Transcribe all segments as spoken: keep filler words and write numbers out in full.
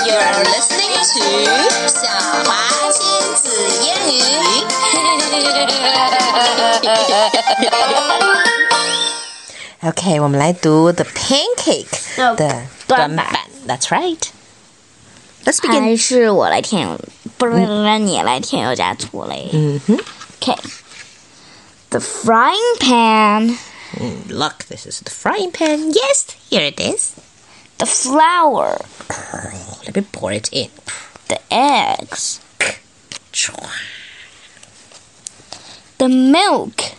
You're listening to 小华亲子英语。OK， 我们来读 The Pancake 的短版。That's right. Let's begin. 还是我来添油，不是让你来添油加醋嘞。 嗯哼。 Okay. The frying pan. Mm, look, this is the frying pan. Yes, here it is. The flour. Oh, let me pour it in. The eggs. The milk.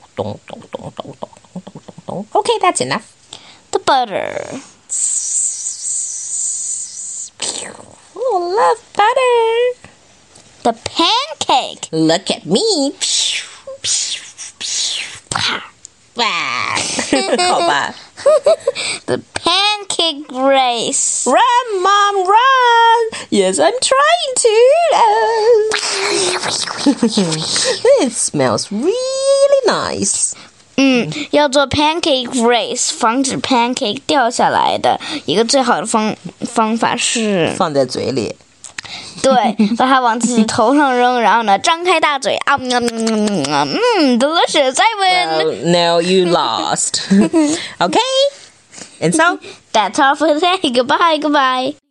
Okay, that's enough. The butter. Oh, love butter. The pancake. Look at me. 好吧。 The pancake race. Run, Mom, run! Yes, I'm trying to. It smells really nice. 嗯，要做 pancake race， 防止 pancake 掉下来的一个最好的方方法是放在嘴里。 对，把它往自己头上扔，然后呢，张开大嘴啊，嗯 ，delicious, I win. Well, no, you lost. Okay, and so that's all for today. Goodbye, goodbye.